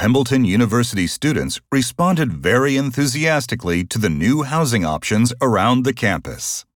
Pembleton University students responded very enthusiastically to the new housing options around the campus.